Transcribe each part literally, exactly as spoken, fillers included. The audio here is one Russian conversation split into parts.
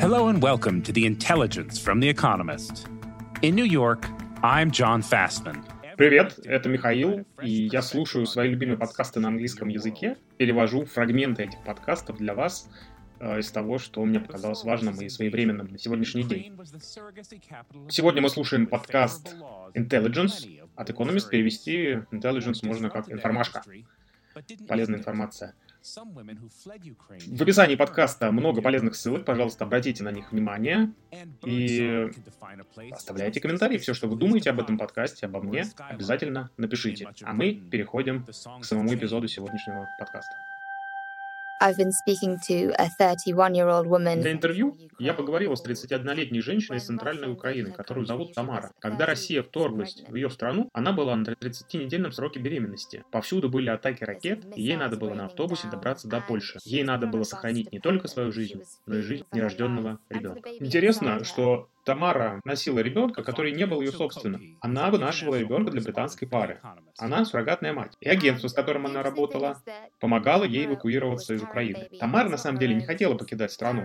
Hello and welcome to The Intelligence from The Economist. In New York, I'm John Fastman. Привет, это Михаил, и я слушаю свои любимые подкасты на английском языке, перевожу фрагменты этих подкастов для вас э, из того, что мне показалось важным и своевременным на сегодняшний день. Сегодня мы слушаем подкаст Intelligence от Economist. Перевести Intelligence можно как информашка, полезная информация. В описании подкаста много полезных ссылок, пожалуйста, обратите на них внимание и оставляйте комментарии. Все, что вы думаете об этом подкасте, обо мне, обязательно напишите. А мы переходим к самому эпизоду сегодняшнего подкаста. I've been speaking to a thirty-one-year-old woman. Для интервью я поговорила с тридцатиоднолетней женщиной из Центральной Украины, которую зовут Тамара. Когда Россия вторглась в ее страну, она была на тридцатинедельном сроке беременности. Повсюду были атаки ракет, и ей надо было на автобусе добраться до Польши. Ей надо было сохранить не только свою жизнь, но и жизнь нерожденного ребенка. Интересно, что Тамара носила ребенка, который не был ее собственным. Она вынашивала ребенка для британской пары. Она суррогатная мать. И агентство, с которым она работала, помогало ей эвакуироваться из Украины. Тамара на самом деле не хотела покидать страну,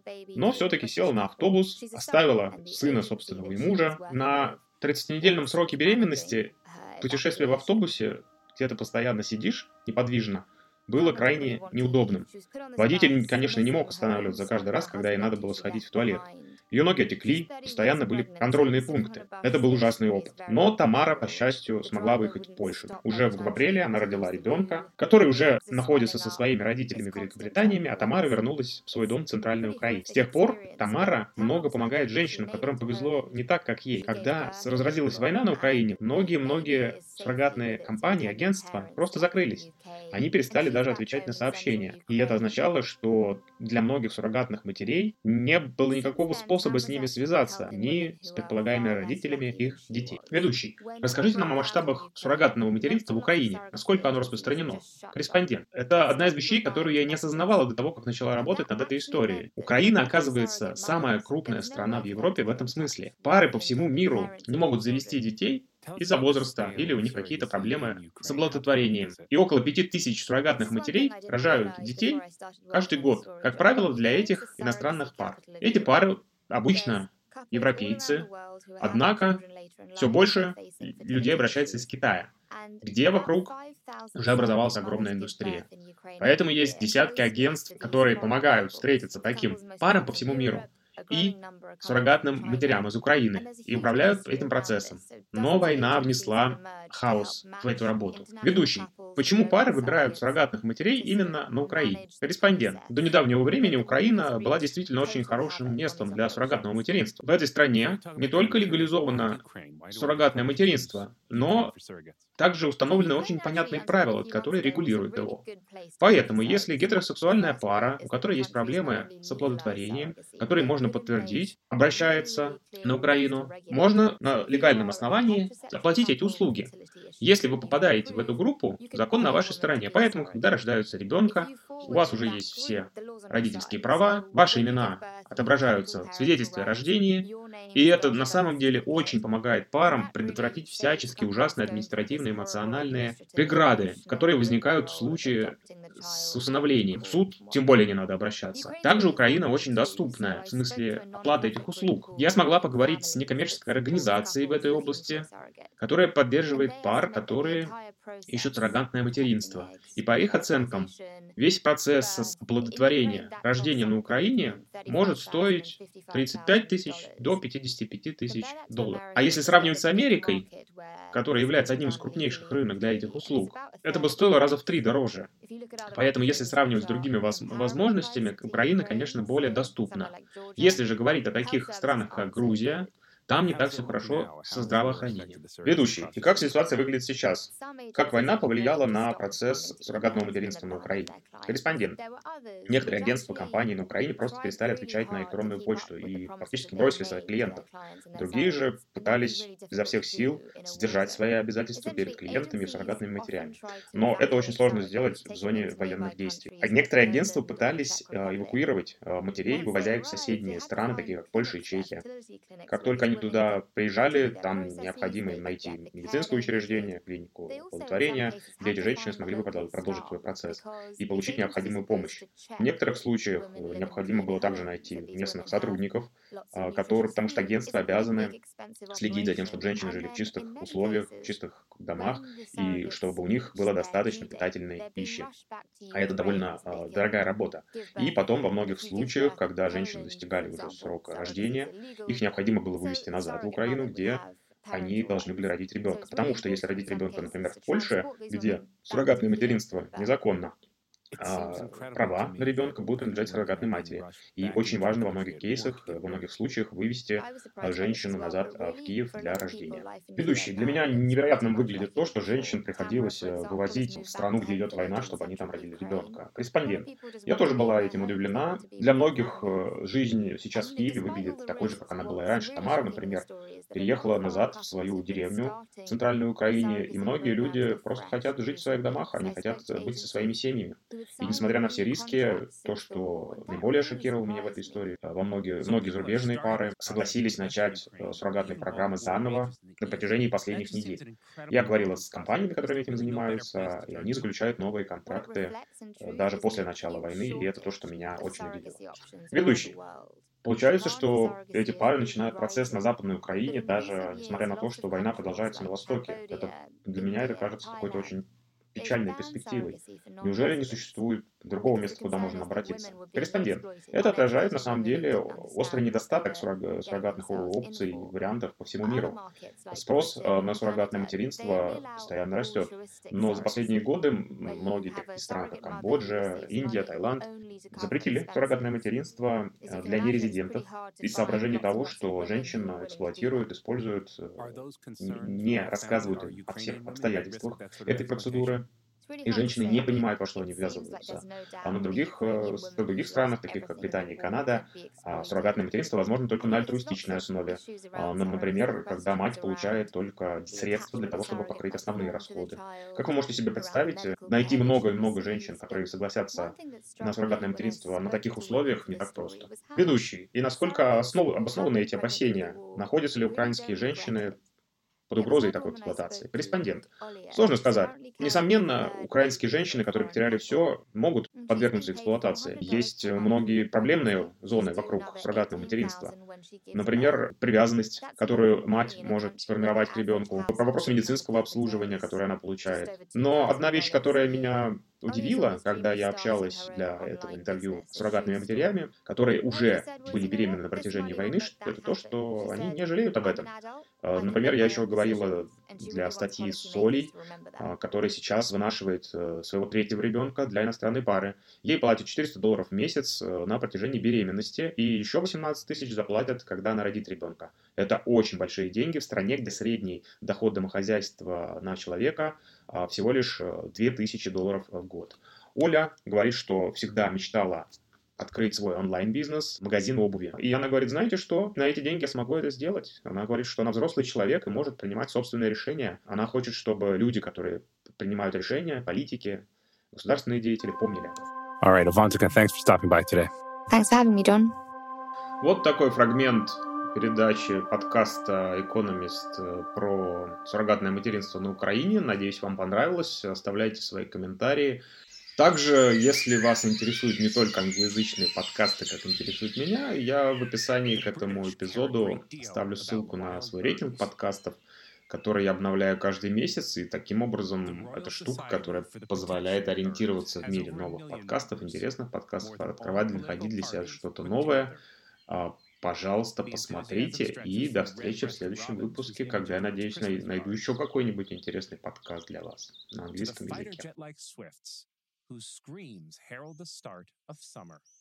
но все-таки села на автобус, оставила сына собственного и мужа. На тридцатинедельном сроке беременности путешествие в автобусе, где ты постоянно сидишь неподвижно, было крайне неудобным. Водитель, конечно, не мог останавливаться каждый раз, когда ей надо было сходить в туалет. Ее ноги отекли, постоянно были контрольные пункты. Это был ужасный опыт. Но Тамара, по счастью, смогла выехать в Польшу. Уже в апреле она родила ребенка, который уже находится со своими родителями в Великобритании, а Тамара вернулась в свой дом в Центральной Украине. С тех пор Тамара много помогает женщинам, которым повезло не так, как ей. Когда разразилась война на Украине, многие-многие суррогатные компании, агентства просто закрылись. Они перестали даже отвечать на сообщения. И это означало, что для многих суррогатных матерей не было никакого способа с ними связаться, ни с предполагаемыми родителями их детей. Ведущий, расскажите нам о масштабах суррогатного материнства в Украине. Насколько оно распространено? Корреспондент. Это одна из вещей, которую я не осознавала до того, как начала работать над этой историей. Украина, оказывается, самая крупная страна в Европе в этом смысле. Пары по всему миру не могут завести детей из-за возраста, или у них какие-то проблемы с оплодотворением. И около пяти тысяч суррогатных матерей рожают детей каждый год, как правило, для этих иностранных пар. Эти пары обычно европейцы, однако все больше людей обращается из Китая, где вокруг уже образовалась огромная индустрия. Поэтому есть десятки агентств, которые помогают встретиться таким парам по всему миру и суррогатным матерям из Украины, и управляют этим процессом. Но война внесла хаос в эту работу. Ведущий. Почему пары выбирают суррогатных матерей именно на Украине? Корреспондент. До недавнего времени Украина была действительно очень хорошим местом для суррогатного материнства. В этой стране не только легализовано суррогатное материнство, но также установлены очень понятные правила, которые регулируют его. Поэтому, если гетеросексуальная пара, у которой есть проблемы с оплодотворением, которые можно подтвердить, обращается на Украину, можно на легальном основании оплатить эти услуги. Если вы попадаете в эту группу, закон на вашей стороне. Поэтому, когда рождаются ребенка, у вас уже есть все родительские права, ваши имена отображаются в свидетельстве о рождении, и это на самом деле очень помогает парам предотвратить всяческие ужасные административные эмоциональные преграды, которые возникают в случае с усыновлением. В суд тем более не надо обращаться. Также Украина очень доступная в смысле оплаты этих услуг. Я смогла поговорить с некоммерческой организацией в этой области, которая поддерживает пар, которые ищут суррогатное материнство. И по их оценкам, весь процесс оплодотворения, рождения на Украине может стоить тридцать пять тысяч до пятьдесят пять тысяч долларов. А если сравнивать с Америкой, которая является одним из крупнейших рынок для этих услуг, это бы стоило раза в три дороже. Поэтому, если сравнивать с другими воз- возможностями, Украина, конечно, более доступна. Если же говорить о таких странах, как Грузия, там не так все хорошо со здравоохранением. Ведущий. И как ситуация выглядит сейчас? Как война повлияла на процесс суррогатного материнства на Украине? Корреспондент. Некоторые агентства, компании на Украине просто перестали отвечать на электронную почту и фактически бросили своих клиентов. Другие же пытались изо всех сил сдержать свои обязательства перед клиентами и суррогатными матерями. Но это очень сложно сделать в зоне военных действий. А некоторые агентства пытались э, эвакуировать э, матерей, вывозя их в соседние страны, такие как Польша и Чехия. Как только они туда приезжали, там необходимо им найти медицинское учреждение, клинику благотворения, где эти женщины смогли бы продолжить свой процесс и получить необходимую помощь. В некоторых случаях необходимо было также найти местных сотрудников, которые, потому что агентства обязаны следить за тем, чтобы женщины жили в чистых условиях, в чистых домах, и чтобы у них было достаточно питательной пищи. А это довольно э, дорогая работа. И потом во многих случаях, когда женщины достигали уже срока рождения, их необходимо было вывести назад в Украину, где они должны были родить ребенка. Потому что если родить ребенка, например, в Польше, где суррогатное материнство незаконно, а, права на ребенка будут принадлежать суррогатной матери. И очень важно во многих кейсах, во многих случаях вывести женщину назад в Киев для рождения. Ведущий, для меня невероятным выглядит то, что женщин приходилось вывозить в страну, где идет война, чтобы они там родили ребенка. Корреспондент. Я тоже была этим удивлена. Для многих жизнь сейчас в Киеве выглядит такой же, как она была и раньше. Тамара, например, переехала назад в свою деревню в Центральной Украине, и многие люди просто хотят жить в своих домах, они хотят быть со своими семьями. И несмотря на все риски, то, что наиболее шокировало меня в этой истории, во многие, многие зарубежные пары согласились начать суррогатные программы заново на протяжении последних недель. Я говорила с компаниями, которые этим занимаются, и они заключают новые контракты даже после начала войны, и это то, что меня очень удивило. Ведущий. Получается, что эти пары начинают процесс на Западной Украине, даже несмотря на то, что война продолжается на Востоке. Это, для меня это кажется какой-то очень печальной перспективой. Неужели не существует другого места, куда можно обратиться? Корреспондент. Это отражает, на самом деле, острый недостаток суррог... суррогатных опций и вариантов по всему миру. Спрос на суррогатное материнство постоянно растет. Но за последние годы многие такие страны, как Камбоджа, Индия, Таиланд, запретили суррогатное материнство для нерезидентов из соображений того, что женщин эксплуатируют, используют, не рассказывают им о всех обстоятельствах этой процедуры, и женщины не понимают, во что они ввязываются. А на других, в других странах, таких как Британия и Канада, суррогатное материнство возможно только на альтруистичной основе. Например, когда мать получает только средства для того, чтобы покрыть основные расходы. Как вы можете себе представить, найти много и много женщин, которые согласятся на суррогатное материнство на таких условиях, не так просто. Ведущий. И насколько основ... обоснованы эти опасения? Находятся ли украинские женщины под угрозой такой эксплуатации? Корреспондент. Сложно сказать. Несомненно, украинские женщины, которые потеряли все, могут подвергнуться эксплуатации. Есть многие проблемные зоны вокруг суррогатного материнства. Например, привязанность, которую мать может сформировать к ребенку, по вопросу медицинского обслуживания, которое она получает. Но одна вещь, которая меня удивила, когда я общалась для этого интервью с суррогатными матерями, которые уже были беременны на протяжении войны, это то, что они не жалеют об этом. Например, я еще говорила для статьи с Олей, которая сейчас вынашивает своего третьего ребенка для иностранной пары. Ей платят четыреста долларов в месяц на протяжении беременности, и еще восемнадцать тысяч заплатят, когда она родит ребенка. Это очень большие деньги в стране, где средний доход домохозяйства на человека всего лишь две тысячи долларов в год. Оля говорит, что всегда мечтала открыть свой онлайн-бизнес, магазин обуви. И она говорит, знаете что, на эти деньги я смогу это сделать. Она говорит, что она взрослый человек и может принимать собственные решения. Она хочет, чтобы люди, которые принимают решения, политики, государственные деятели, помнили об этом. All right, Avantika, thanks for stopping by today. Thanks for having me, John. Вот такой фрагмент передачи подкаста «Экономист» про суррогатное материнство на Украине. Надеюсь, вам понравилось. Оставляйте свои комментарии. Также, если вас интересуют не только англоязычные подкасты, как интересует меня, я в описании к этому эпизоду ставлю ссылку на свой рейтинг подкастов, который я обновляю каждый месяц, и таким образом это штука, которая позволяет ориентироваться в мире новых подкастов, интересных подкастов, открывать, находить для себя что-то новое. Пожалуйста, посмотрите, и до встречи в следующем выпуске, когда, я надеюсь, найду еще какой-нибудь интересный подкаст для вас на английском языке. Whose screams herald the start of summer.